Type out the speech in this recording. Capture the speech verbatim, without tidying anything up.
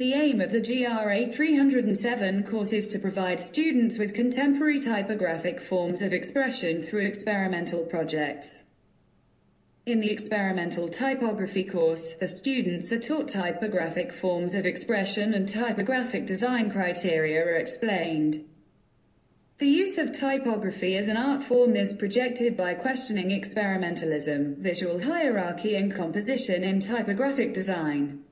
The aim of the G R A three hundred seven course is to provide students with contemporary typographic forms of expression through experimental projects. In the experimental typography course, the students are taught typographic forms of expression and typographic design criteria are explained. The use of typography as an art form is projected by questioning experimentalism, visual hierarchy and composition in typographic design.